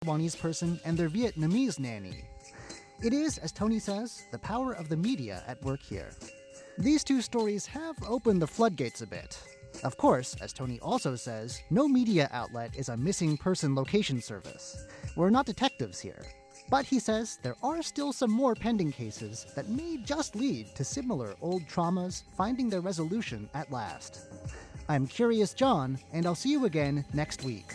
Taiwanese person and their Vietnamese nanny. It is, as Tony says, the power of the media at work here. These two stories have opened the floodgates a bit. Of course, as Tony also says, no media outlet is a missing person location service. We're not detectives here. But he says there are still some more pending cases that may just lead to similar old traumas finding their resolution at last. I'm Curious John, and I'll see you again next week.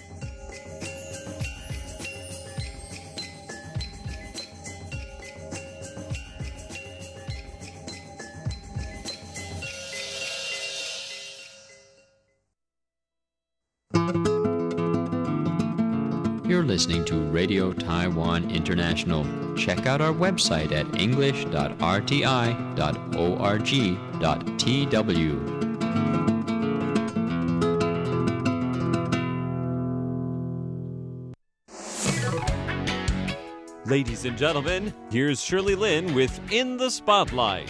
You're listening to Radio Taiwan International. Check out our website at english.rti.org.tw. Ladies and gentlemen, here's Shirley Lin with In the Spotlight.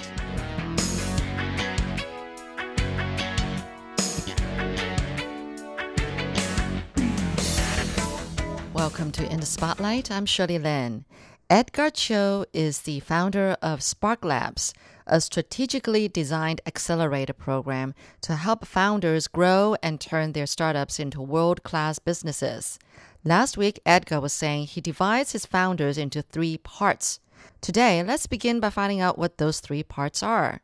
Welcome to In the Spotlight. I'm Shirley Lin. Edgar Cho is the founder of Spark Labs, a strategically designed accelerator program to help founders grow and turn their startups into world-class businesses. Last week, Edgar was saying he divides his founders into 3 parts. Today, let's begin by finding out what those 3 parts are.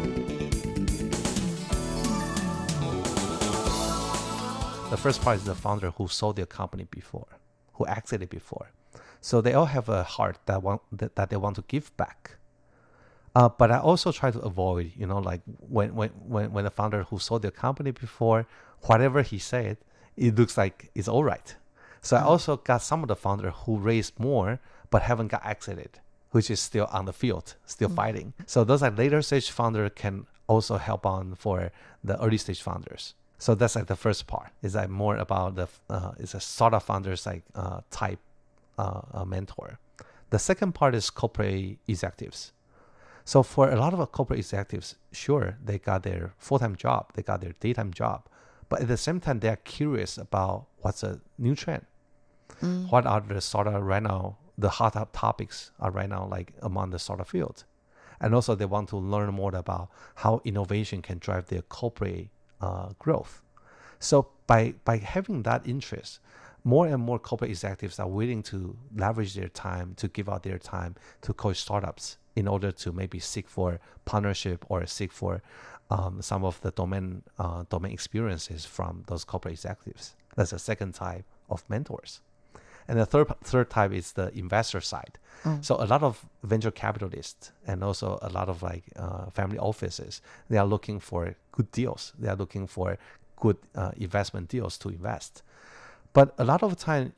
The first part is the founder who sold their company before, who exited before. So they all have a heart that they want to give back. But I also try to avoid, like when the founder who sold their company before, whatever he said, it looks like it's all right. So I also got some of the founders who raised more but haven't got exited, which is still on the field, still fighting. So those are later stage founders can also help on for the early stage founders. So that's like the first part. Is like more about it's a startup founders type mentor. The second part is corporate executives. So for a lot of corporate executives, sure, they got their full-time job, they got their daytime job, but at the same time, they are curious about what's a new trend. What are the startup right now, the hot topics are right now like among the startup field. And also they want to learn more about how innovation can drive their corporate growth. So by having that interest, more and more corporate executives are willing to leverage their time, to give out their time to coach startups in order to maybe seek for partnership or seek for some of the domain experiences from those corporate executives. That's the second type of mentors. And the third type is the investor side. So a lot of venture capitalists and also a lot of family offices, they are looking for good deals. They are looking for good investment deals to invest. But a lot of time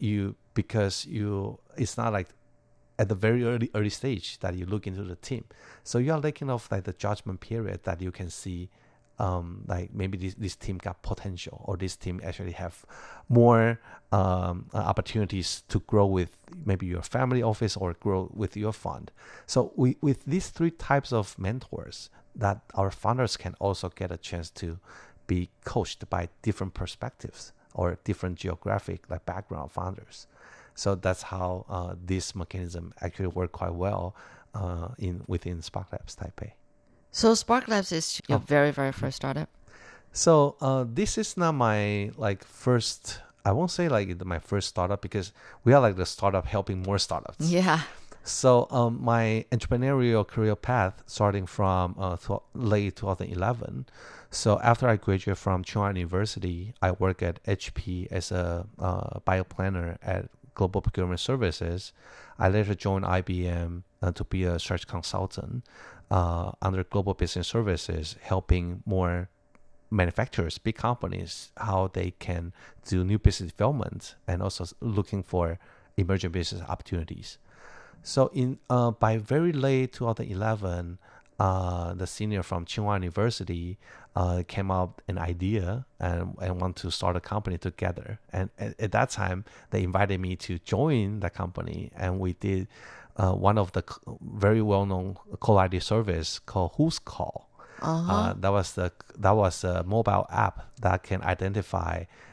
it's not like at the very early stage that you look into the team. So you are lacking of like the judgment period that you can see like maybe this team got potential, or this team actually have more opportunities to grow with maybe your family office or grow with your fund. So with these 3 types of mentors, that our founders can also get a chance to be coached by different perspectives or different geographic background founders. So that's how this mechanism actually work quite well within Spark Labs Taipei. So Spark Labs is your very, very first startup? So this is not my first, I won't say my first startup, because we are the startup helping more startups. Yeah. So my entrepreneurial career path starting from late 2011. So after I graduated from Tsinghua University, I worked at HP as a bioplanner at Global Procurement Services. I later joined IBM to be a search consultant under Global Business Services, helping more manufacturers, big companies, how they can do new business development and also looking for emerging business opportunities. So by very late 2011, the senior from Tsinghua University came up an idea and want to start a company together. And at that time, they invited me to join the company, and we did one of the very well-known call ID service called Who's Call. That was a mobile app that can identify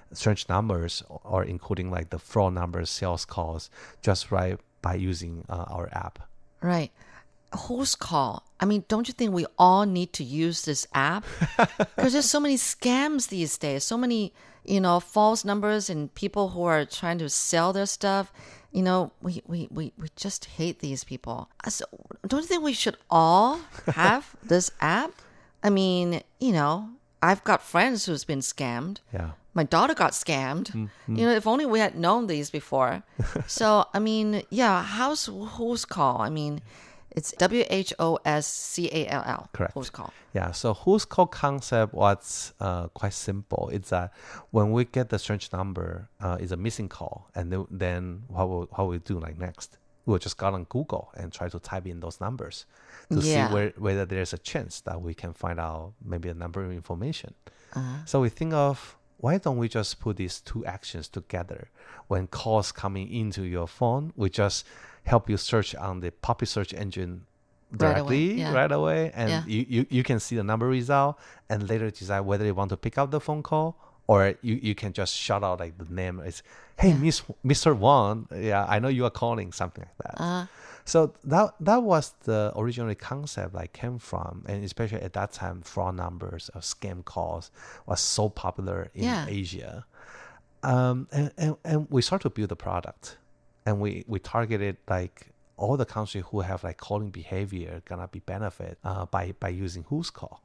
strange numbers or including like the fraud numbers, sales calls, just right by using our app. Right. Who's call? I mean, don't you think we all need to use this app? Because there's so many scams these days, so many, false numbers and people who are trying to sell their stuff. We just hate these people. So don't you think we should all have this app? I mean, I've got friends who's been scammed. Yeah. My daughter got scammed. If only we had known these before. So, I mean, yeah, who's call? I mean, it's WHOSCALL. Correct. Who's call? Yeah, so who's call concept was quite simple. It's that when we get the strange number, it's a missing call, and then what we do like next? We'll just go on Google and try to type in those numbers to see whether there's a chance that we can find out maybe a number of information. So we think of, why don't we just put these two actions together? When calls coming into your phone, we just help you search on the popular search engine directly right away, and you can see the number result and later decide whether you want to pick up the phone call, or you can just shout out like the name. It's, hey, Mr. Wang, I know you are calling, something like that. So that was the original concept I came from, and especially at that time, fraud numbers or scam calls was so popular in Asia. And we started to build the product, and we targeted like all the countries who have like calling behavior gonna be benefit by using Who's Call.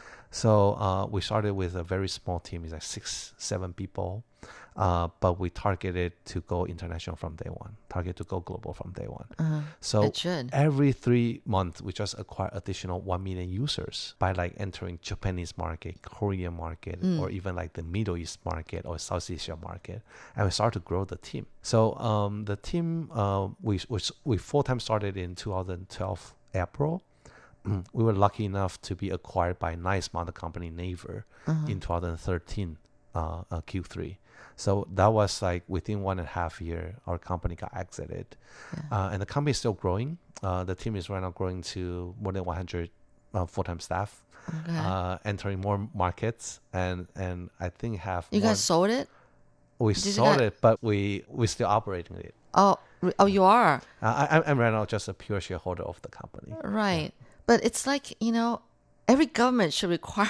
So we started with a very small team, it's like 6-7 people, but we targeted to go international from day one, target to go global from day one. So every 3 months, we just acquire additional 1 million users by like entering Japanese market, Korean market, or even like the Middle East market or South Asia market. And we started to grow the team. So the team, we full-time started in 2012 April. We were lucky enough to be acquired by a nice mother company, Naver, in 2013 Q3. So that was like within 1.5 years, our company got exited. And the company is still growing. The team is right now growing to more than 100 full-time staff, entering more markets, and I think have... You guys sold it? We sold it, but we're still operating it. Oh, you are? I'm right now just a pure shareholder of the company. Right. But it's like, every government should require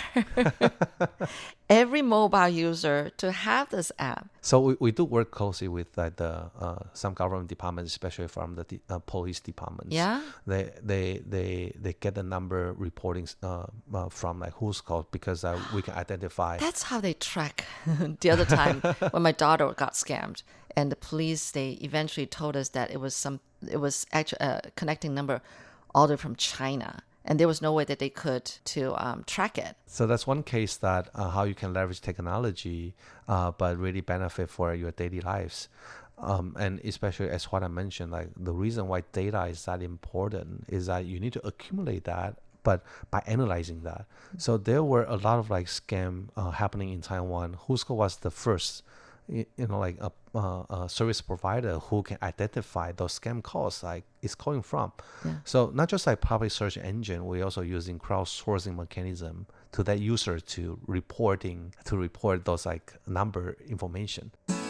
every mobile user to have this app. So we do work closely with like the some government departments, especially from the police departments. Yeah. They get the number reporting from like Who's Call, because we can identify. That's how they track. The other time when my daughter got scammed, and the police, they eventually told us that it was actually a connecting number all the way from China, and there was no way that they could to track it. So that's one case that how you can leverage technology, but really benefit for your daily lives. And especially as what I mentioned, like the reason why data is that important is that you need to accumulate that, but by analyzing that. So there were a lot of like scam happening in Taiwan. Who's Call was the first, like a service provider who can identify those scam calls like it's calling from. So not just like public search engine, we're also using crowdsourcing mechanism to that user to report those like number information.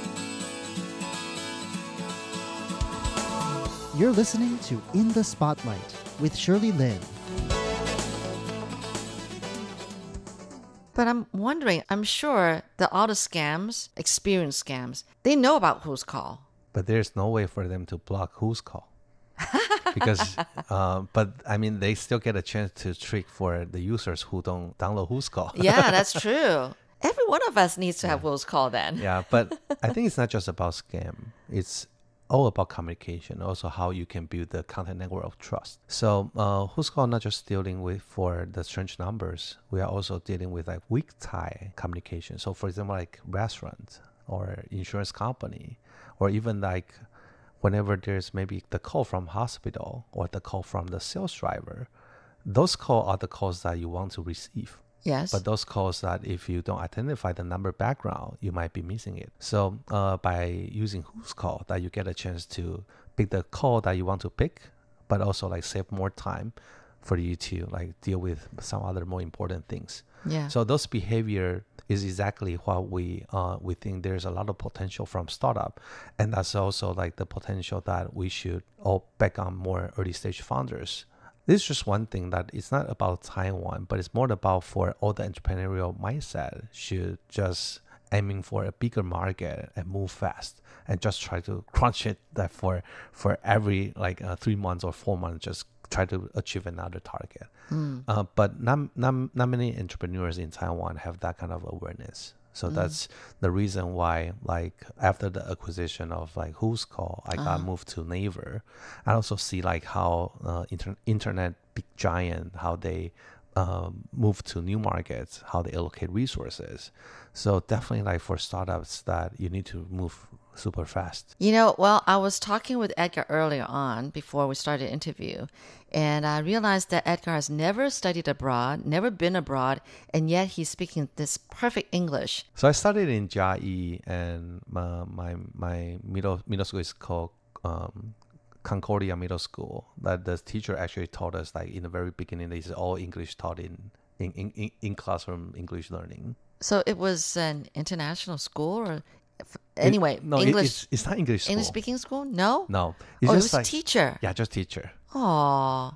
You're listening to In the Spotlight with Shirley Lin. But I'm wondering, I'm sure that all the scams, experienced scams, they know about Who's Call. But there's no way for them to block Who's Call. Because, but I mean, they still get a chance to trick for the users who don't download Who's Call. Yeah, that's true. Every one of us needs to have Who's Call then. Yeah, but I think it's not just about scam. It's all about communication, also how you can build the content network of trust. So Who's Call not just dealing with for the strange numbers, we are also dealing with like weak tie communication. So for example, like restaurant or insurance company, or even like whenever there's maybe the call from hospital or the call from the sales driver, those calls are the calls that you want to receive. Yes. But those calls that if you don't identify the number background, you might be missing it. So by using Who's Call, that you get a chance to pick the call that you want to pick, but also like save more time for you to like deal with some other more important things. Yeah. So those behavior is exactly what we think there's a lot of potential from startup, and that's also like the potential that we should all back on more early stage founders. This is just one thing that it's not about Taiwan, but it's more about for all the entrepreneurial mindset should just aiming for a bigger market and move fast and just try to crunch it that for every 3 months or 4 months, just try to achieve another target. But not many entrepreneurs in Taiwan have that kind of awareness. So that's the reason why, like after the acquisition of like Who's Call, I got moved to Naver. I also see like how internet big giant, how they move to new markets, how they allocate resources. So definitely like for startups that you need to move super fast. Well, I was talking with Edgar earlier on before we started the interview, and I realized that Edgar has never studied abroad, never been abroad, and yet he's speaking this perfect English. So I studied in Jiayi, and my middle school is called Concordia Middle School. That the teacher actually taught us like in the very beginning, it's all English taught in classroom English learning. So it was an international school, or anyway, No, English. it's not English school. English speaking school? No. No, It's it's it just was like teacher. Yeah, just teacher. Oh.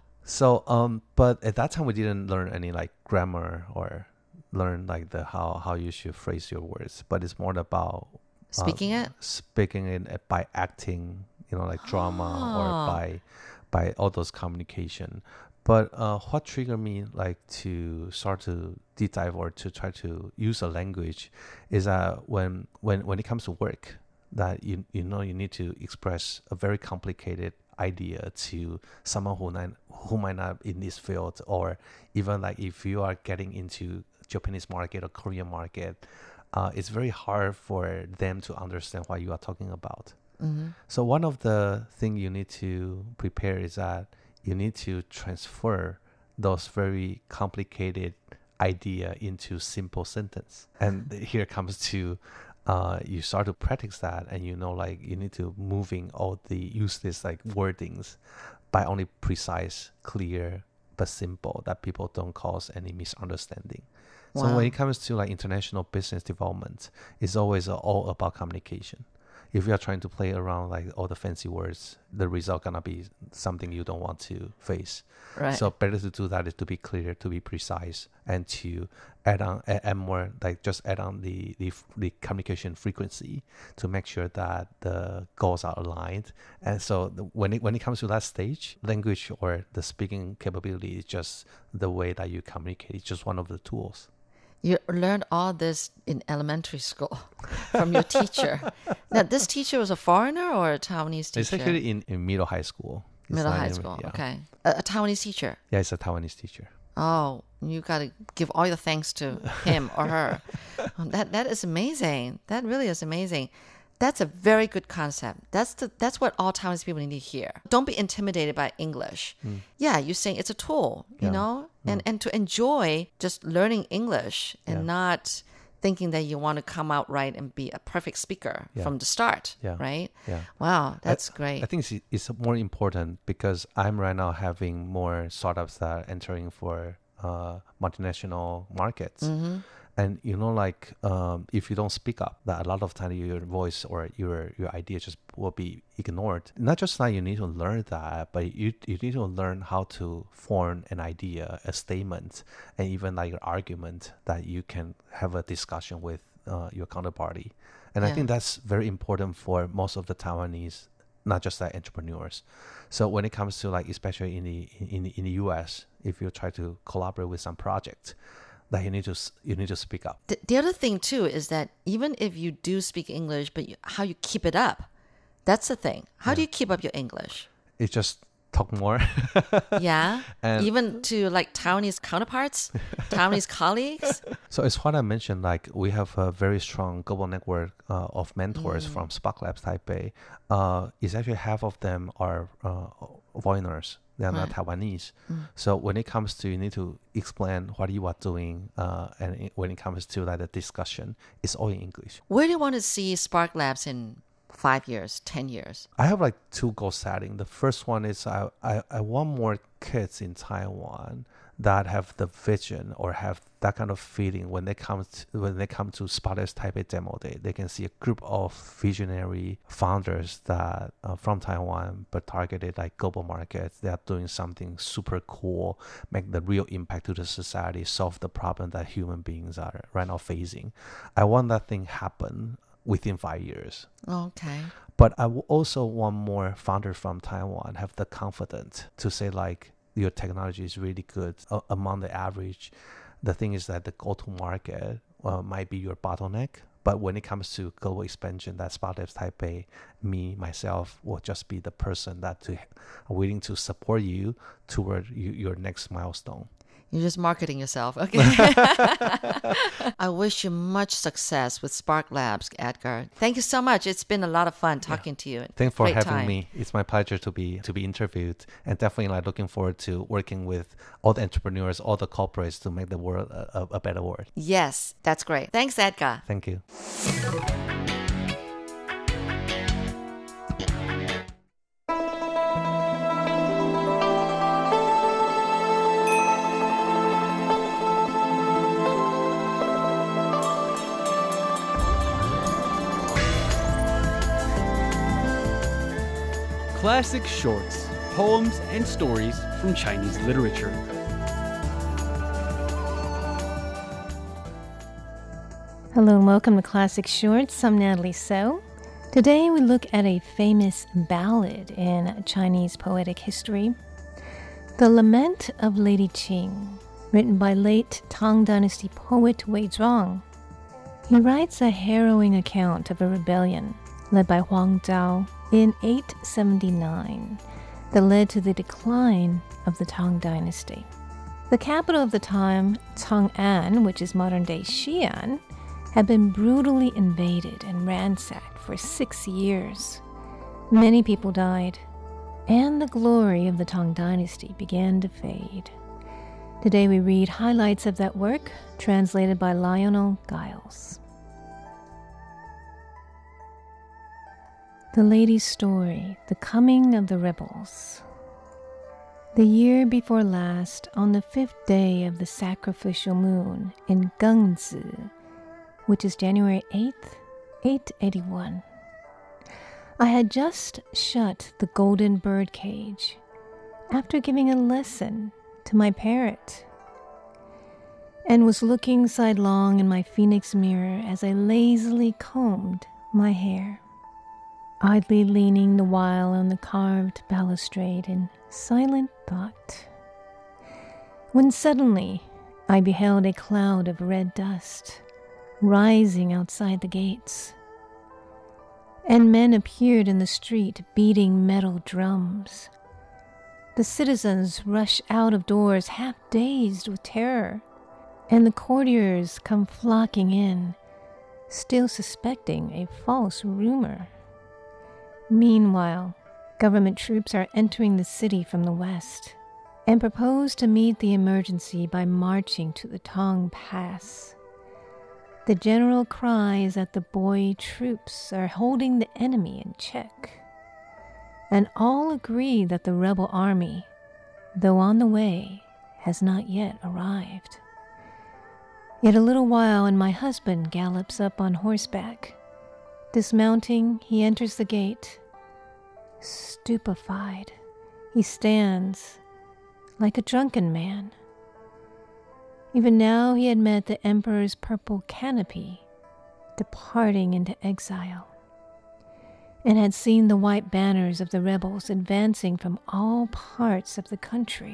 So but at that time we didn't learn any like grammar or learn like the how you should phrase your words. But it's more about Speaking it? Speaking it by acting, like drama or by all those communication. But what triggered me like to start to deep dive or to try to use a language is that when it comes to work, that you need to express a very complicated idea to someone who might not in this field, or even like if you are getting into Japanese market or Korean market, it's very hard for them to understand what you are talking about. So one of the things you need to prepare is that you need to transfer those very complicated idea into simple sentence. And here comes to you start to practice that, and you need to moving all the useless like wordings by only precise, clear, but simple, that people don't cause any misunderstanding. Wow. So when it comes to like international business development, it's always all about communication. If you are trying to play around like all the fancy words, the result gonna be something you don't want to face. Right. So better to do that is to be clear, to be precise, and to add more, like just add on the communication frequency to make sure that the goals are aligned. And so when it comes to that stage, language or the speaking capability is just the way that you communicate. It's just one of the tools. You learned all this in elementary school from your teacher. Now, this teacher was a foreigner or a Taiwanese teacher? It's actually in middle high school. It's Middle not high even- school, yeah. okay. A Taiwanese teacher. Yeah, it's a Taiwanese teacher. Oh, you got to give all your thanks to him or her. That is amazing. That really is amazing. That's a very good concept. That's what all Taiwanese people need to hear. Don't be intimidated by English. Yeah, you're saying it's a tool, and to enjoy just learning English and not thinking that you want to come out right and be a perfect speaker from the start, right? Yeah. Wow, that's great. I think it's more important because I'm right now having more startups that are entering for multinational markets. And if you don't speak up, that a lot of time your voice or your idea just will be ignored. Not just that you need to learn that, but you need to learn how to form an idea, a statement, and even like an argument that you can have a discussion with your counterparty. And I think that's very important for most of the Taiwanese, not just like entrepreneurs. So when it comes to like, especially in the US, if you try to collaborate with some project, that you need to speak up. The other thing too is that even if you do speak English, but how you keep it up, that's the thing. How do you keep up your English? It's just talk more. Yeah, And- even to like Taiwanese counterparts, Taiwanese colleagues. So it's what I mentioned, like we have a very strong global network of mentors from Spark Labs Taipei. It's actually half of them are foreigners. They are not Taiwanese. So when it comes to, you need to explain what you are doing, and when it comes to like the discussion, it's all in English. Where do you want to see Spark Labs in 5 years, 10 years? I have like 2 goal setting. The first one is I want more kids in Taiwan that have the vision or have that kind of feeling when they come to Spotlight's Taipei Demo Day. They can see a group of visionary founders that from Taiwan but targeted like global markets. They are doing something super cool, make the real impact to the society, solve the problem that human beings are right now facing. I want that thing happen within 5 years. Okay. But I also want more founders from Taiwan have the confidence to say like, your technology is really good among the average. The thing is that the go-to-market might be your bottleneck. But when it comes to global expansion, that Spotlight Taipei, myself, will just be the person that willing to support you toward your next milestone. You're just marketing yourself. Okay. I wish you much success with Spark Labs, Edgar. Thank you so much. It's been a lot of fun talking to you. Thanks for having me. It's my pleasure to be interviewed, and definitely like looking forward to working with all the entrepreneurs, all the corporates to make the world a better world. Yes, that's great. Thanks, Edgar. Thank you. Classic shorts, poems, and stories from Chinese literature. Hello and welcome to Classic Shorts. I'm Natalie So. Today we look at a famous ballad in Chinese poetic history, The Lament of Lady Qing, written by late Tang Dynasty poet Wei Zhuang. He writes a harrowing account of a rebellion led by Huang Zhao in 879 that led to the decline of the Tang Dynasty. The capital of the time, Chang'an, which is modern-day Xi'an, had been brutally invaded and ransacked for 6 years. Many people died, and the glory of the Tang Dynasty began to fade. Today we read highlights of that work, translated by Lionel Giles. The Lady's Story, The Coming of the Rebels. The year before last, on the 5th day of the sacrificial moon in Gengzi, which is January 8th, 881, I had just shut the golden bird cage after giving a lesson to my parrot, and was looking sidelong in my phoenix mirror as I lazily combed my hair, idly leaning the while on the carved balustrade in silent thought, when suddenly I beheld a cloud of red dust rising outside the gates, and men appeared in the street beating metal drums. The citizens rush out of doors half dazed with terror, and the courtiers come flocking in, still suspecting a false rumor. Meanwhile, government troops are entering the city from the west and propose to meet the emergency by marching to the Tong Pass. The general cry is that the boy troops are holding the enemy in check, and all agree that the rebel army, though on the way, has not yet arrived. Yet a little while and my husband gallops up on horseback. Dismounting, he enters the gate. Stupefied, he stands like a drunken man. Even now he had met the emperor's purple canopy departing into exile, and had seen the white banners of the rebels advancing from all parts of the country.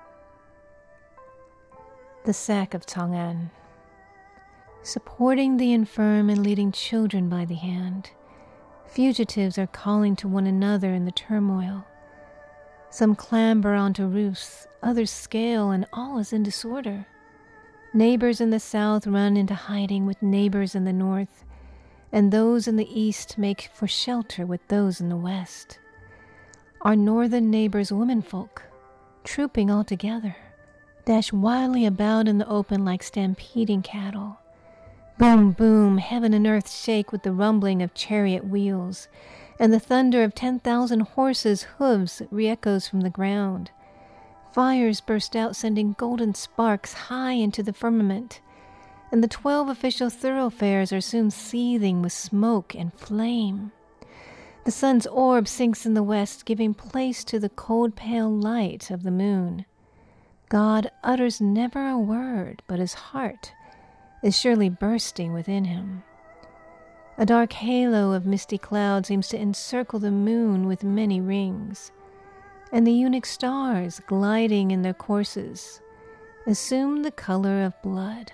The sack of Chang'an. Supporting the infirm and leading children by the hand, fugitives are calling to one another in the turmoil. Some clamber onto roofs, others scale, and all is in disorder. Neighbors in the south run into hiding with neighbors in the north, and those in the east make for shelter with those in the west. Our northern neighbors' womenfolk, trooping all together, dash wildly about in the open like stampeding cattle. Boom, boom, heaven and earth shake with the rumbling of chariot wheels, and the thunder of 10,000 horses' hooves re-echoes from the ground. Fires burst out, sending golden sparks high into the firmament, and the 12 official thoroughfares are soon seething with smoke and flame. The sun's orb sinks in the west, giving place to the cold, pale light of the moon. God utters never a word, but his heart is surely bursting within him. A dark halo of misty cloud seems to encircle the moon with many rings, and the eunuch stars, gliding in their courses, assume the color of blood.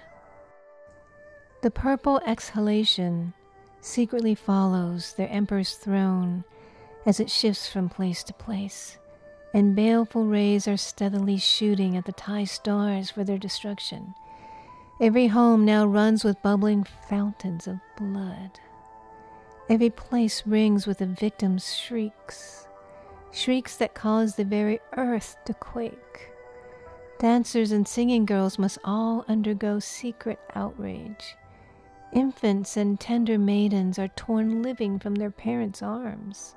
The purple exhalation secretly follows their emperor's throne as it shifts from place to place, and baleful rays are steadily shooting at the Thai stars for their destruction. Every home now runs with bubbling fountains of blood. Every place rings with the victim's shrieks, shrieks that cause the very earth to quake. Dancers and singing girls must all undergo secret outrage. Infants and tender maidens are torn living from their parents' arms.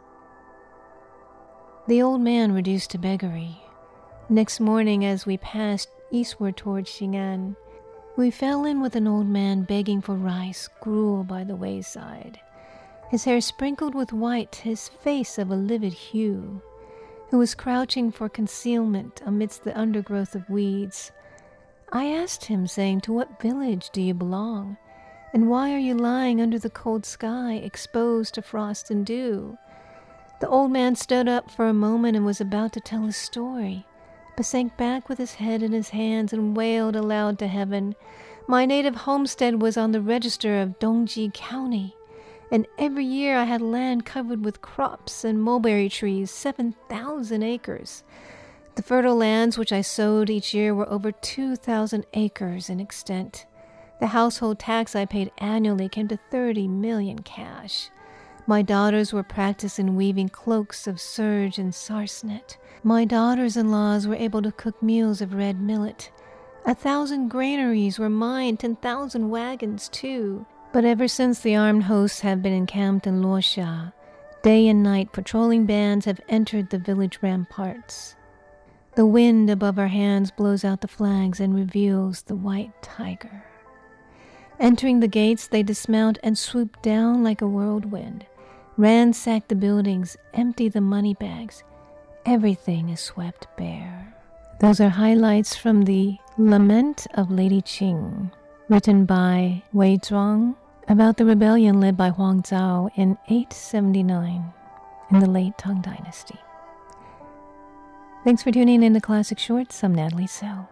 The old man reduced to beggary. Next morning, as we passed eastward toward Xing'an, we fell in with an old man begging for rice, gruel by the wayside, his hair sprinkled with white, his face of a livid hue, who was crouching for concealment amidst the undergrowth of weeds. I asked him, saying, "To what village do you belong? And why are you lying under the cold sky, exposed to frost and dew?" The old man stood up for a moment and was about to tell his story, but sank back with his head in his hands and wailed aloud to heaven. "My native homestead was on the register of Dongji County, and every year I had land covered with crops and mulberry trees, 7,000 acres. The fertile lands which I sowed each year were over 2,000 acres in extent. The household tax I paid annually came to 30 million cash. My daughters were practiced in weaving cloaks of serge and sarcenet. My daughters-in-laws were able to cook meals of red millet. 1,000 granaries were mine, 10,000 wagons too. But ever since the armed hosts have been encamped in Luoxia, day and night patrolling bands have entered the village ramparts. The wind above our hands blows out the flags and reveals the white tiger. Entering the gates, they dismount and swoop down like a whirlwind, ransack the buildings, empty the money bags. Everything is swept bare. Those are highlights from the Lament of Lady Qing, written by Wei Zhuang, about the rebellion led by Huang Zhao in 879 in the late Tang Dynasty. Thanks for tuning in to Classic Shorts. I'm Natalie So.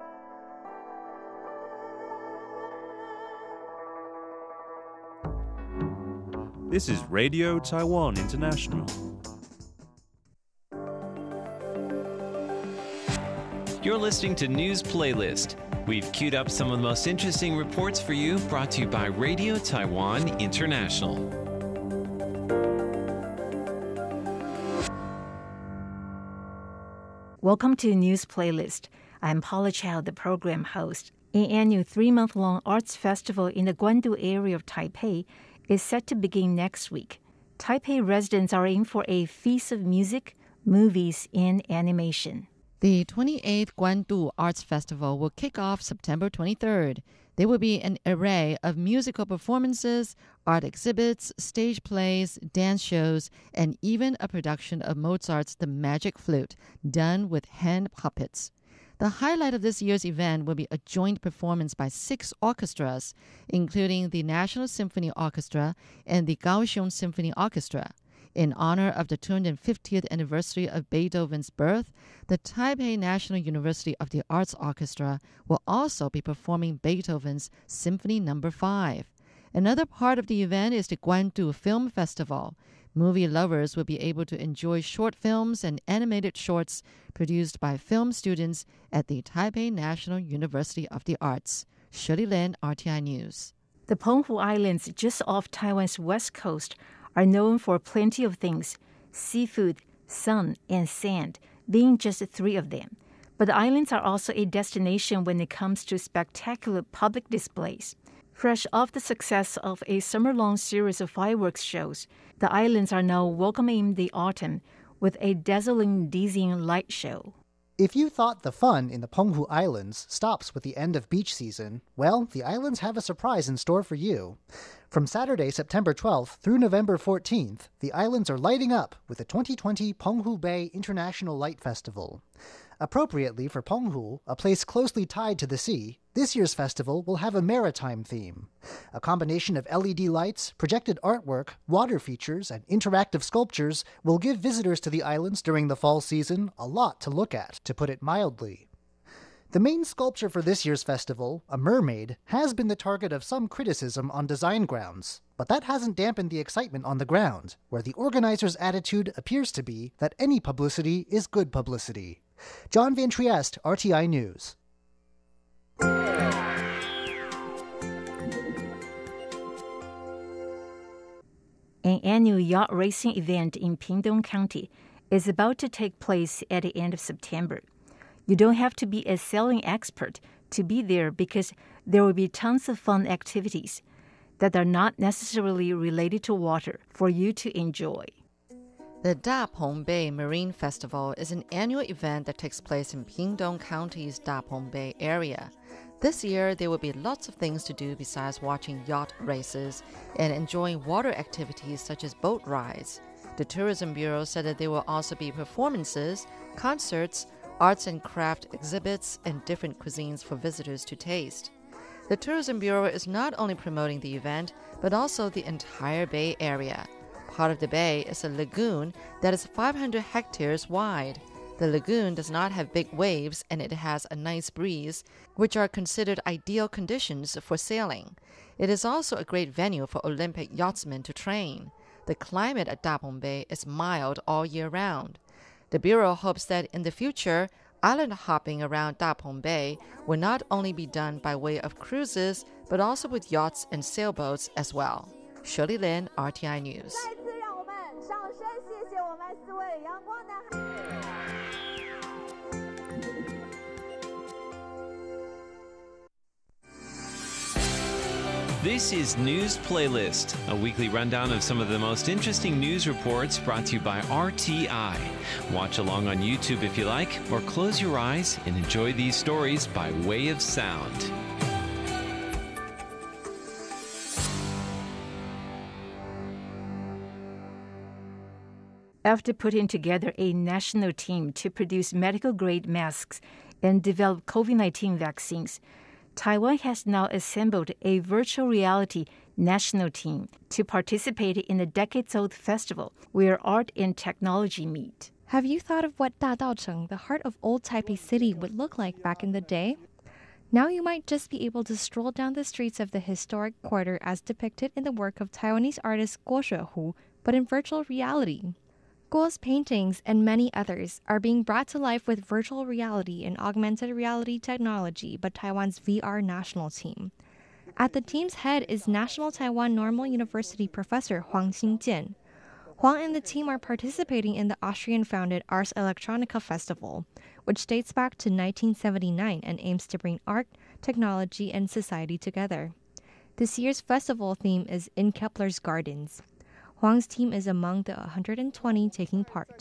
This is Radio Taiwan International. You're listening to News Playlist. We've queued up some of the most interesting reports for you, brought to you by Radio Taiwan International. Welcome to News Playlist. I'm Paula Chow, the program host. An annual 3-month-long arts festival in the Guandu area of Taipei is set to begin next week. Taipei residents are in for a feast of music, movies, and animation. The 28th Guandu Arts Festival will kick off September 23rd. There will be an array of musical performances, art exhibits, stage plays, dance shows, and even a production of Mozart's The Magic Flute, done with hand puppets. The highlight of this year's event will be a joint performance by 6 orchestras, including the National Symphony Orchestra and the Kaohsiung Symphony Orchestra. In honor of the 250th anniversary of Beethoven's birth, the Taipei National University of the Arts Orchestra will also be performing Beethoven's Symphony No. 5. Another part of the event is the Guandu Film Festival. Movie lovers will be able to enjoy short films and animated shorts produced by film students at the Taipei National University of the Arts. Shirley Lin, RTI News. The Penghu Islands, just off Taiwan's west coast, are known for plenty of things: seafood, sun, and sand, being just 3 of them. But the islands are also a destination when it comes to spectacular public displays. Fresh off the success of a summer-long series of fireworks shows, the islands are now welcoming the autumn with a dazzling, dizzying light show. If you thought the fun in the Penghu Islands stops with the end of beach season, well, the islands have a surprise in store for you. From Saturday, September 12th through November 14th, the islands are lighting up with the 2020 Penghu Bay International Light Festival. Appropriately for Penghu, a place closely tied to the sea, this year's festival will have a maritime theme. A combination of LED lights, projected artwork, water features, and interactive sculptures will give visitors to the islands during the fall season a lot to look at, to put it mildly. The main sculpture for this year's festival, a mermaid, has been the target of some criticism on design grounds, but that hasn't dampened the excitement on the ground, where the organizers' attitude appears to be that any publicity is good publicity. John Van Trieste, RTI News. An annual yacht racing event in Pingtung County is about to take place at the end of September. You don't have to be a sailing expert to be there because there will be tons of fun activities that are not necessarily related to water for you to enjoy. The Da Peng Bay Marine Festival is an annual event that takes place in Pingtung County's Da Peng Bay area. This year, there will be lots of things to do besides watching yacht races and enjoying water activities such as boat rides. The Tourism Bureau said that there will also be performances, concerts, arts and craft exhibits, and different cuisines for visitors to taste. The Tourism Bureau is not only promoting the event, but also the entire Bay Area. Part of the bay is a lagoon that is 500 hectares wide. The lagoon does not have big waves and it has a nice breeze, which are considered ideal conditions for sailing. It is also a great venue for Olympic yachtsmen to train. The climate at Da Peng Bay is mild all year round. The Bureau hopes that in the future, island hopping around Da Peng Bay will not only be done by way of cruises, but also with yachts and sailboats as well. Shirley Lin, RTI News. This is News Playlist, a weekly rundown of some of the most interesting news reports brought to you by RTI. Watch along on YouTube if you like, or close your eyes and enjoy these stories by way of sound. After putting together a national team to produce medical-grade masks and develop COVID-19 vaccines, Taiwan has now assembled a virtual reality national team to participate in a decades-old festival where art and technology meet. Have you thought of what Dadaocheng, the heart of old Taipei City, would look like back in the day? Now you might just be able to stroll down the streets of the historic quarter as depicted in the work of Taiwanese artist Guo Shuehu, but in virtual reality. Guo's paintings and many others are being brought to life with virtual reality and augmented reality technology by Taiwan's VR national team. At the team's head is National Taiwan Normal University professor Huang Xingjian. Huang and the team are participating in the Austrian-founded Ars Electronica Festival, which dates back to 1979 and aims to bring art, technology, and society together. This year's festival theme is In Kepler's Gardens. Huang's team is among the 120 taking part.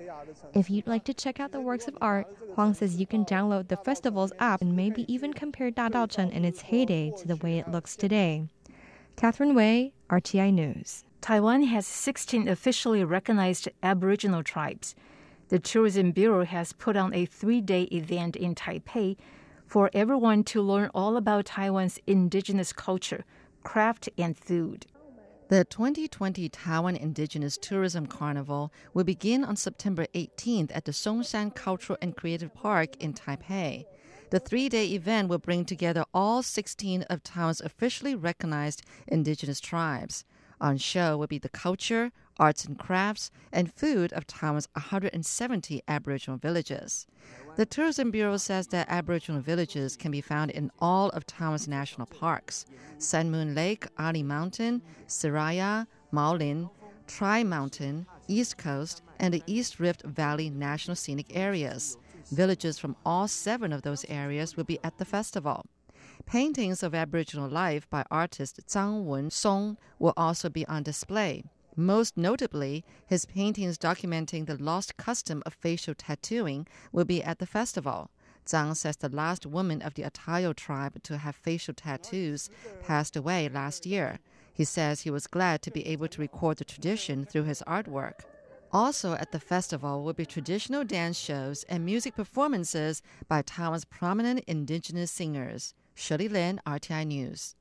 If you'd like to check out the works of art, Huang says you can download the festival's app and maybe even compare Dadaocheng in its heyday to the way it looks today. Catherine Wei, RTI News. Taiwan has 16 officially recognized Aboriginal tribes. The Tourism Bureau has put on a 3-day event in Taipei for everyone to learn all about Taiwan's indigenous culture, craft, and food. The 2020 Taiwan Indigenous Tourism Carnival will begin on September 18th at the Songshan Cultural and Creative Park in Taipei. The 3-day event will bring together all 16 of Taiwan's officially recognized indigenous tribes. On show will be the culture, arts and crafts, and food of Taiwan's 170 Aboriginal villages. The Tourism Bureau says that Aboriginal villages can be found in all of Taiwan's national parks: Sun Moon Lake, Ali Mountain, Siraya, Maolin, Tri Mountain, East Coast, and the East Rift Valley National Scenic Areas. Villages from all 7 of those areas will be at the festival. Paintings of Aboriginal life by artist Zhang Wen Song will also be on display. Most notably, his paintings documenting the lost custom of facial tattooing will be at the festival. Zhang says the last woman of the Atayo tribe to have facial tattoos passed away last year. He says he was glad to be able to record the tradition through his artwork. Also at the festival will be traditional dance shows and music performances by Taiwan's prominent indigenous singers. Shirley Lin, RTI News.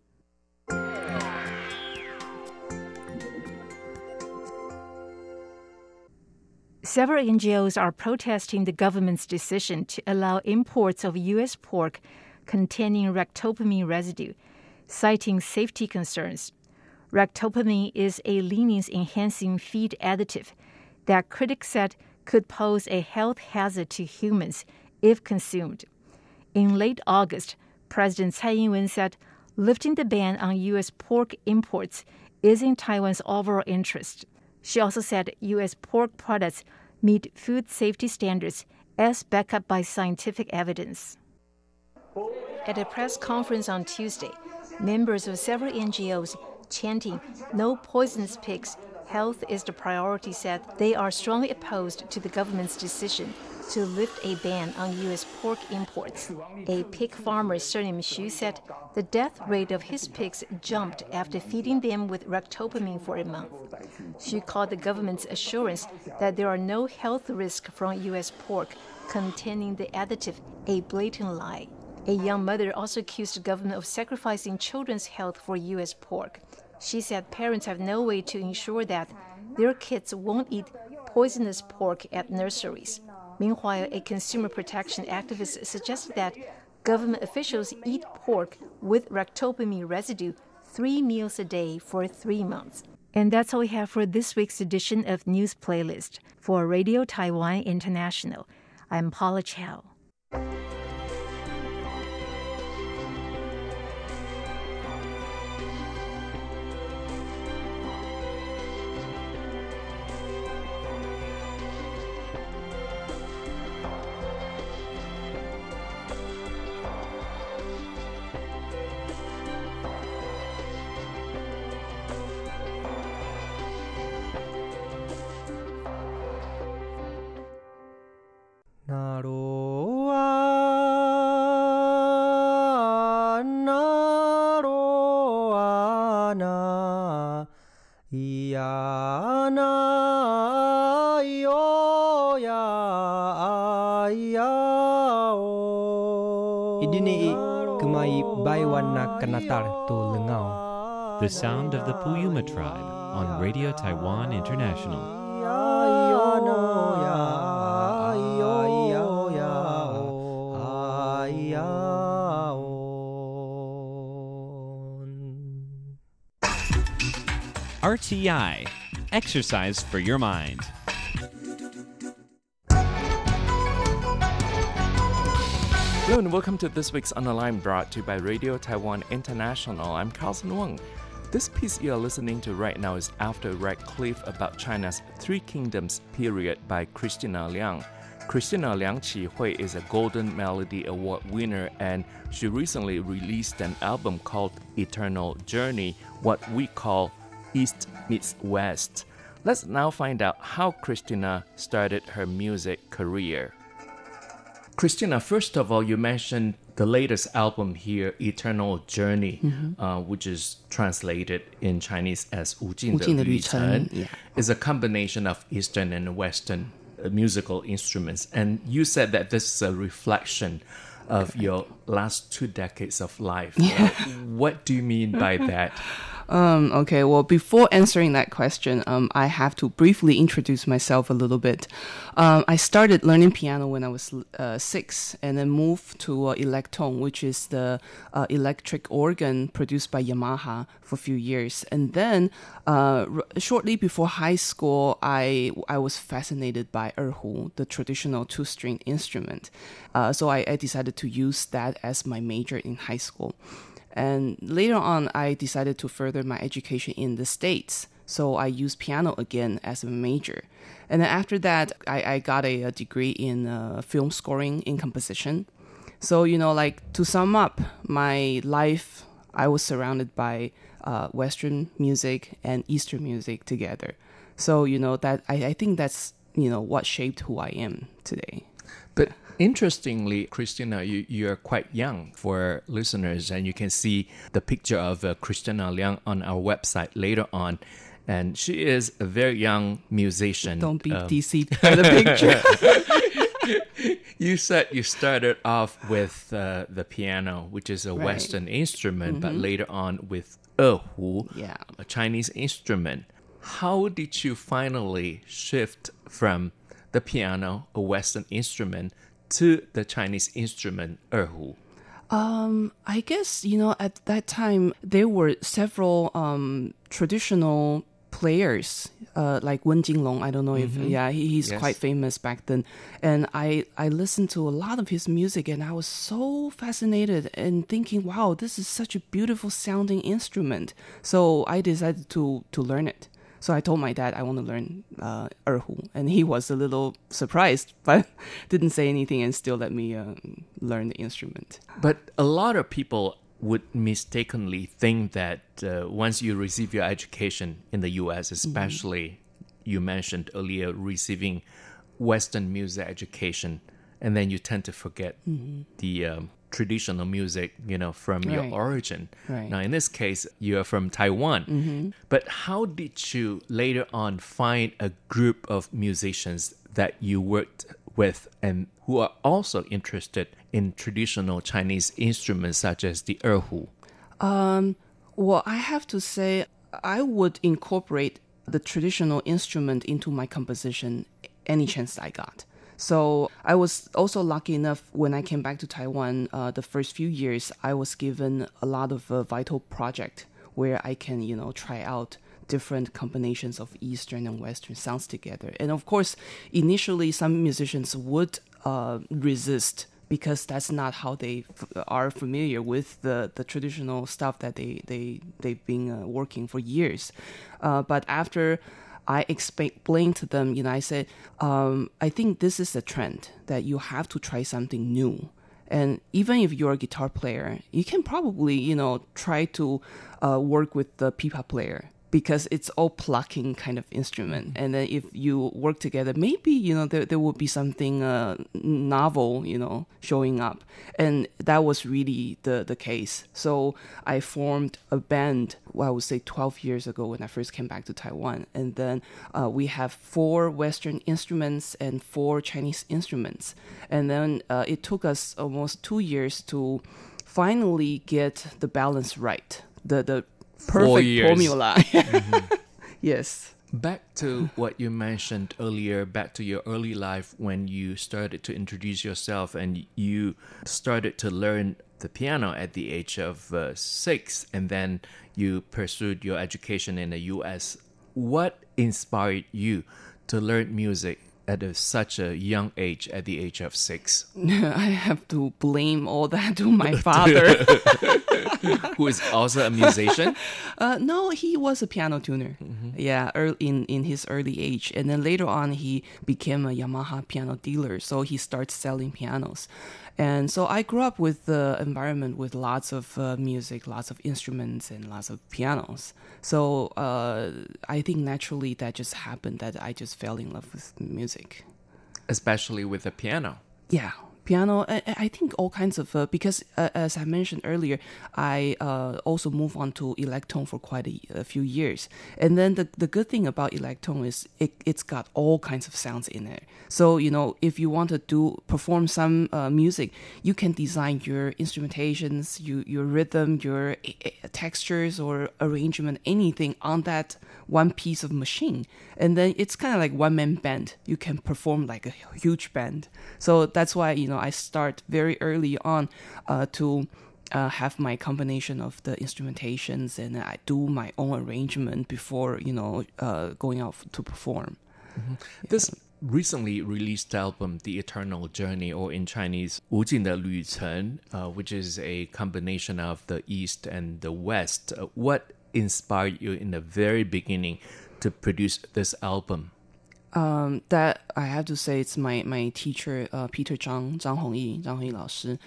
Several NGOs are protesting the government's decision to allow imports of U.S. pork containing ractopamine residue, citing safety concerns. Ractopamine is a lenience-enhancing feed additive that critics said could pose a health hazard to humans if consumed. In late August, President Tsai Ing-wen said lifting the ban on U.S. pork imports is in Taiwan's overall interest. She also said U.S. pork products meet food safety standards as backed up by scientific evidence. At a press conference on Tuesday, members of several NGOs chanting "No poisonous pigs, health is the priority" said they are strongly opposed to the government's decision to lift a ban on U.S. pork imports. A pig farmer surnamed Xu said the death rate of his pigs jumped after feeding them with ractopamine for a month. Xu called the government's assurance that there are no health risks from U.S. pork containing the additive a blatant lie. A young mother also accused the government of sacrificing children's health for U.S. pork. She said parents have no way to ensure that their kids won't eat poisonous pork at nurseries. Meanwhile, a consumer protection activist suggested that government officials eat pork with ractopamine residue 3 meals a day for 3 months. And that's all we have for this week's edition of News Playlist. For Radio Taiwan International, I'm Paula Chow. The sound of the Puyuma tribe on Radio Taiwan International. RTI, exercise for your mind. Hello and welcome to this week's Online brought to you by Radio Taiwan International. I'm Carlson Wong. This piece you're listening to right now is After Red Cliff about China's Three Kingdoms period by Christina Liang. Christina Liang Qi-hui is a Golden Melody Award winner, and she recently released an album called Eternal Journey, what we call East meets West. Let's now find out how Christina started her music career. Christina, first of all, you mentioned the latest album here, Eternal Journey, which is translated in Chinese as 无尽的旅程, is a combination of Eastern and Western musical instruments. And you said that this is a reflection of your last 2 decades of life. Yeah. What do you mean by that? Okay, well, before answering that question, I have to briefly introduce myself a little bit. I started learning piano when I was 6 and then moved to Electone, which is the electric organ produced by Yamaha for a few years. And then shortly before high school, I was fascinated by erhu, the traditional 2-string instrument. So I decided to use that as my major in high school. And later on, I decided to further my education in the States. So I used piano again as a major. And then after that, I got a degree in film scoring in composition. So, to sum up my life, I was surrounded by Western music and Eastern music together. So, that I think that's, what shaped who I am today. But interestingly, Christina, you are quite young for listeners, and you can see the picture of Christina Liang on our website later on. And she is a very young musician. Don't be deceived by the picture. You said you started off with the piano, which is a Western instrument, but later on with erhu, a Chinese instrument. How did you finally shift from the piano, a Western instrument, to the Chinese instrument erhu? I guess, at that time, there were several traditional players, like Wen Jinglong. I don't know if, he's quite famous back then. And I listened to a lot of his music, and I was so fascinated and thinking, wow, this is such a beautiful sounding instrument. So I decided to learn it. So I told my dad I want to learn erhu, and he was a little surprised, but didn't say anything and still let me learn the instrument. But a lot of people would mistakenly think that once you receive your education in the U.S., especially you mentioned earlier receiving Western music education, and then you tend to forget the traditional music, from your origin. Right. Now, in this case, you are from Taiwan. But how did you later on find a group of musicians that you worked with and who are also interested in traditional Chinese instruments such as the erhu? Well, I have to say, I would incorporate the traditional instrument into my composition any chance I got. So I was also lucky enough when I came back to Taiwan, the first few years, I was given a lot of vital project where I can, try out different combinations of Eastern and Western sounds together. And of course, initially, some musicians would resist because that's not how they are familiar with the traditional stuff that they've been working for years. But after I explained to them, I said, I think this is a trend that you have to try something new. And even if you're a guitar player, you can probably, try to work with the pipa player, because it's all plucking kind of instrument. And then if you work together, maybe, there will be something novel, showing up. And that was really the case. So I formed a band, I would say 12 years ago when I first came back to Taiwan. And then we have 4 Western instruments and 4 Chinese instruments. And then it took us almost 2 years to finally get the balance right. The perfect formula. Yes. Back to what you mentioned earlier, back to your early life when you started to introduce yourself and you started to learn the piano at the age of 6, and then you pursued your education in the U.S. What inspired you to learn music at such a young age, at the age of 6? I have to blame all that to my father. Who is also a musician? No, he was a piano tuner. Yeah, in his early age. And then later on, he became a Yamaha piano dealer. So he starts selling pianos. And so I grew up with the environment with lots of music, lots of instruments, and lots of pianos. So I think naturally that just happened, that I just fell in love with music. Especially with the piano. Yeah. Piano, I think all kinds of, because as I mentioned earlier, I also moved on to electron for quite a few years. And then the good thing about electron is it's got all kinds of sounds in it. So, if you want to perform some music, you can design your instrumentations, your rhythm, your textures or arrangement, anything on that one piece of machine. And then it's kind of like one-man band. You can perform like a huge band. So that's why, I start very early on to have my combination of the instrumentations, and I do my own arrangement before, going out to perform. Mm-hmm. Yeah. This recently released album, The Eternal Journey, or in Chinese, 无尽的旅程, which is a combination of the East and the West. What inspired you in the very beginning to produce this album? That I have to say, it's my teacher, Peter Zhang Hongyi 老师.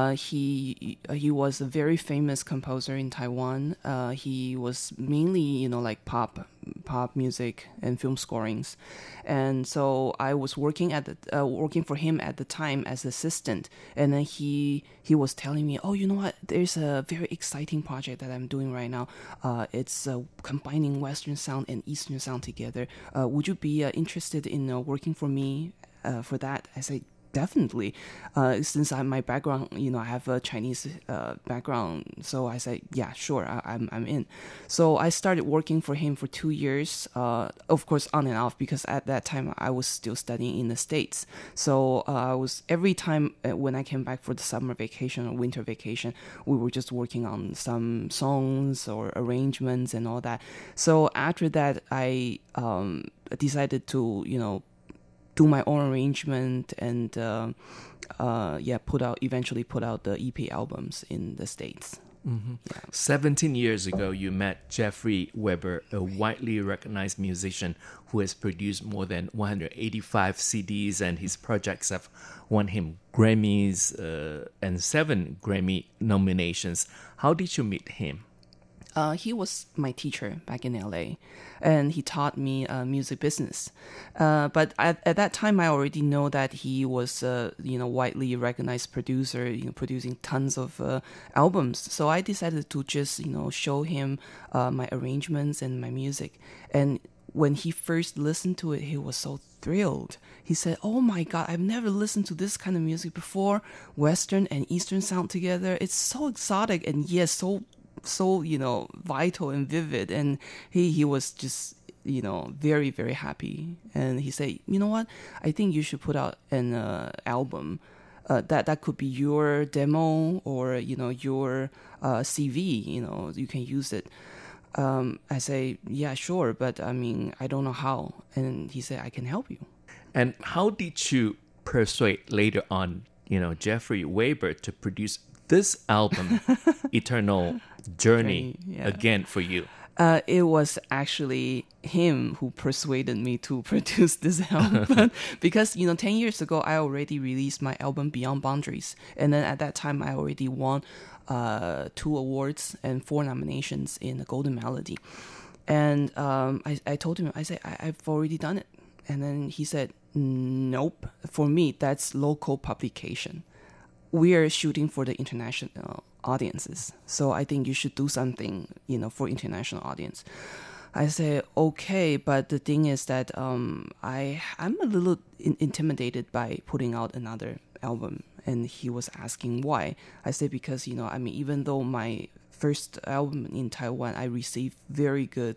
He was a very famous composer in Taiwan. He was mainly, like pop pop music and film scorings. And so I was working for him at the time as assistant. And then he was telling me, oh, you know what? There's a very exciting project that I'm doing right now. It's combining Western sound and Eastern sound together. Would you be interested in working for me for that? I said, definitely. Since my background, I have a Chinese background, so I said, yeah, sure, I'm in. So I started working for him for 2 years, of course on and off, because at that time I was still studying in the States. So I was every time when I came back for the summer vacation or winter vacation, we were just working on some songs or arrangements and all that. So after that, I decided to do my own arrangement and eventually put out the EP albums in the States. Mm-hmm. Yeah. 17 years ago, you met Jeffrey Weber, a widely recognized musician who has produced more than 185 CDs, and his projects have won him Grammys and 7 Grammy nominations. How did you meet him? He was my teacher back in LA, and he taught me music business. But at that time, I already know that he was widely recognized producer, producing tons of albums. So I decided to just show him my arrangements and my music. And when he first listened to it, he was so thrilled. He said, "Oh my God, I've never listened to this kind of music before. Western and Eastern sound together. It's so exotic and yes, so vital and vivid." And he was just very, very happy. And he said, "You know what, I think you should put out an album that could be your demo or your CV. You can use it." I say, "Yeah, sure, but I mean, I don't know how." And he said, "I can help you." And how did you persuade later on Jeffrey Weber to produce this album, Eternal Journey, again for you? It was actually him who persuaded me to produce this album because 10 years ago I already released my album Beyond Boundaries, and then at that time I already won 2 awards and 4 nominations in the Golden Melody. And I told him, I said, I've already done it. And then he said, "Nope, for me that's local publication. We are shooting for the international audiences, so I think you should do something, for international audience." I say, "Okay, but the thing is that I'm a little intimidated by putting out another album." And he was asking why. I say, because even though my first album in Taiwan, I received very good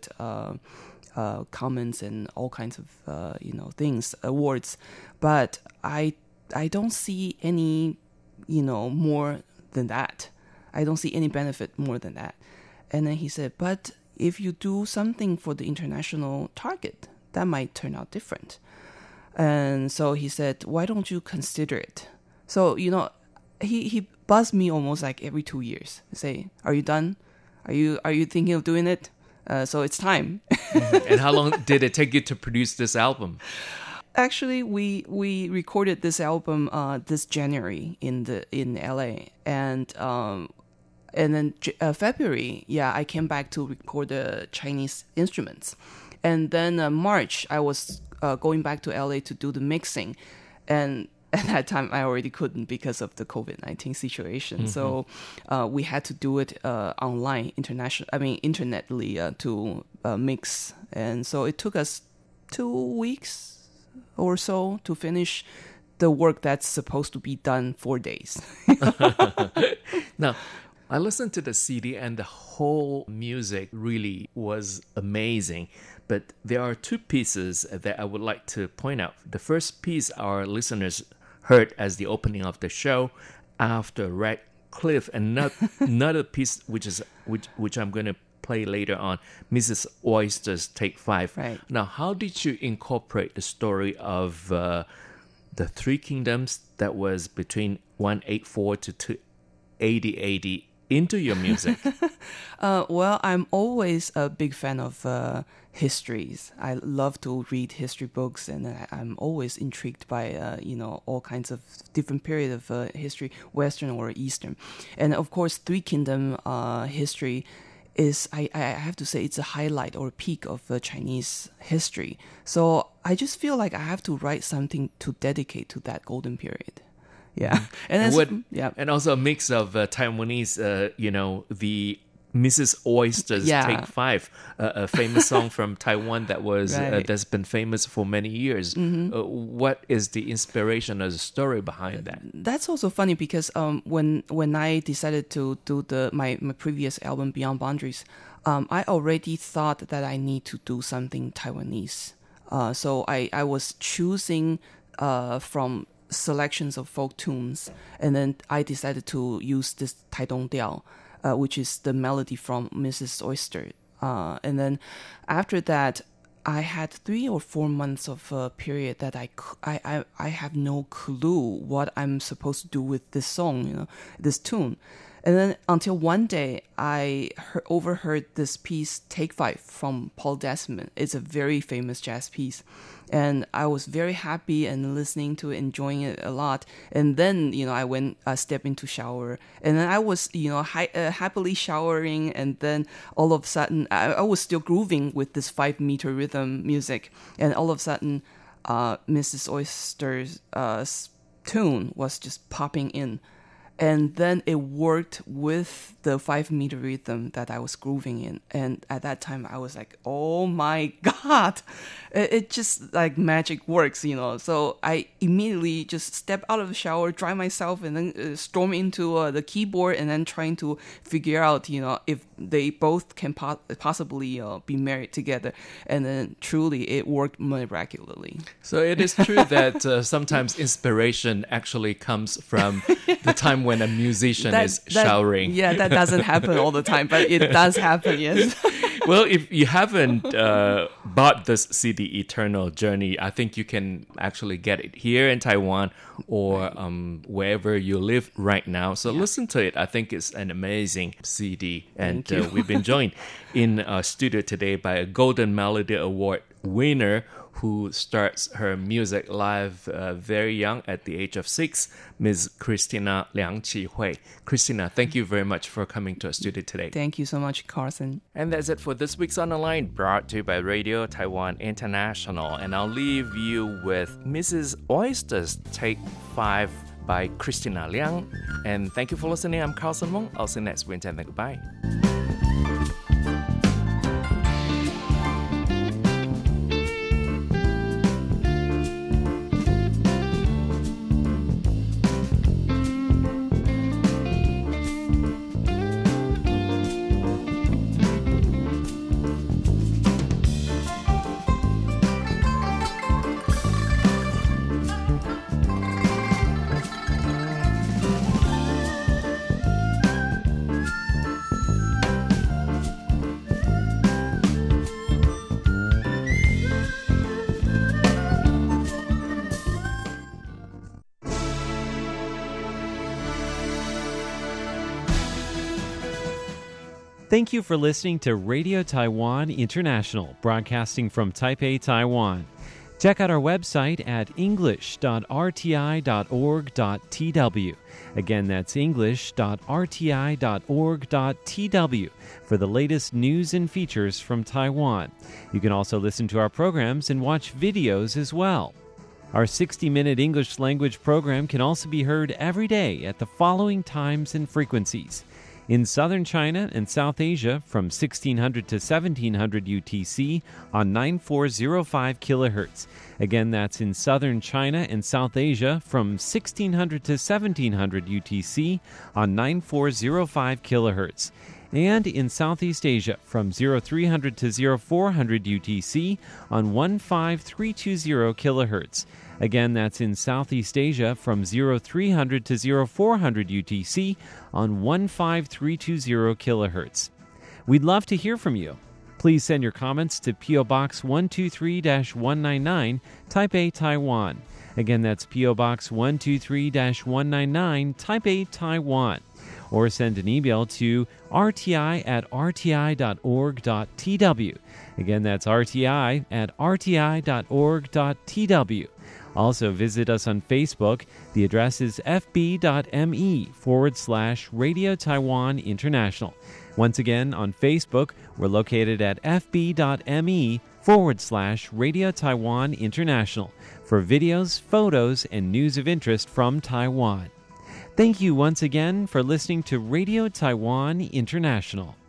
comments and all kinds of things, awards, but I don't see any more than that. I don't see any benefit more than that. And then he said, "But if you do something for the international target, that might turn out different." And so he said, "Why don't you consider it?" So, he buzzed me almost like every 2 years. Say, "Are you done? Are you thinking of doing it? So it's time." And how long did it take you to produce this album? Actually, we recorded this album this January in LA, and then February, I came back to record the Chinese instruments, and then March I was going back to LA to do the mixing, and at that time I already couldn't because of the COVID-19 situation. Mm-hmm. So we had to do it online, internetly to mix, and so it took us 2 weeks or so to finish the work that's supposed to be done 4 days. Now, I listened to the CD and the whole music really was amazing. But there are 2 pieces that I would like to point out. The first piece our listeners heard as the opening of the show, After Red Cliff, and another piece which I'm going to play later on, Mrs. Oyster's Take 5. Right. Now, how did you incorporate the story of the 3 kingdoms that was between 184 to 8080 into your music? Well, I'm always a big fan of histories. I love to read history books, and I'm always intrigued by all kinds of different periods of history, Western or Eastern. And of course, 3 kingdom history is, I have to say, it's a highlight or a peak of Chinese history. So I just feel like I have to write something to dedicate to that golden period. Yeah. And also a mix of Taiwanese, the Mrs. Oyster's Take 5, a famous song from Taiwan that was that's been famous for many years. What is the inspiration or the story behind that? That's also funny because when I decided to do my previous album Beyond Boundaries, I already thought that I need to do something Taiwanese. So I was choosing from selections of folk tunes, and then I decided to use this Taidong Diao, which is the melody from Mrs. Oyster. And then after that, I had 3 or 4 months of a period that I have no clue what I'm supposed to do with this song, this tune. And then until one day, I overheard this piece, Take 5, from Paul Desmond. It's a very famous jazz piece. And I was very happy and listening to it, enjoying it a lot. And then, I went, step into shower. And then I was, happily showering. And then all of a sudden, I was still grooving with this 5-meter rhythm music. And all of a sudden, Mrs. Oyster's tune was just popping in. And then it worked with the 5-meter rhythm that I was grooving in. And at that time, I was like, oh my God, it just like magic works, So I immediately just step out of the shower, dry myself, and then storm into the keyboard and then trying to figure out, if they both can possibly be married together. And then truly it worked miraculously. So it is true that sometimes inspiration actually comes from the time when a musician is showering. Yeah, that doesn't happen all the time, but it does happen, yes. Well, if you haven't bought this CD, Eternal Journey, I think you can actually get it here in Taiwan or wherever you live right now. So listen to it. I think it's an amazing CD. And we've been joined in studio today by a Golden Melody Award winner who starts her music life very young at the age of 6, Ms. Christina Liang Chi-Hui. Christina, thank you very much for coming to our studio today. Thank you so much, Carson. And that's it for this week's On The Line, brought to you by Radio Taiwan International. And I'll leave you with Mrs. Oyster's Take 5 by Christina Liang. And thank you for listening. I'm Carlson Wong. I'll see you next week and then goodbye. Thank you for listening to Radio Taiwan International, broadcasting from Taipei, Taiwan. Check out our website at english.rti.org.tw. Again, that's english.rti.org.tw for the latest news and features from Taiwan. You can also listen to our programs and watch videos as well. Our 60-minute English language program can also be heard every day at the following times and frequencies. In southern China and South Asia from 1600 to 1700 UTC on 9405 kHz. Again, that's in southern China and South Asia from 1600 to 1700 UTC on 9405 kHz. And in Southeast Asia from 0300 to 0400 UTC on 15320 kHz. Again, that's in Southeast Asia from 0300 to 0400 UTC on 15320 kHz. We'd love to hear from you. Please send your comments to P.O. Box 123-199, Taipei, Taiwan. Again, that's P.O. Box 123-199, Taipei, Taiwan. Or send an email to rti@rti.org.tw. Again, that's rti@rti.org.tw. Also, visit us on Facebook. The address is fb.me/Radio Taiwan International. Once again, on Facebook, we're located at fb.me/Radio Taiwan International for videos, photos, and news of interest from Taiwan. Thank you once again for listening to Radio Taiwan International.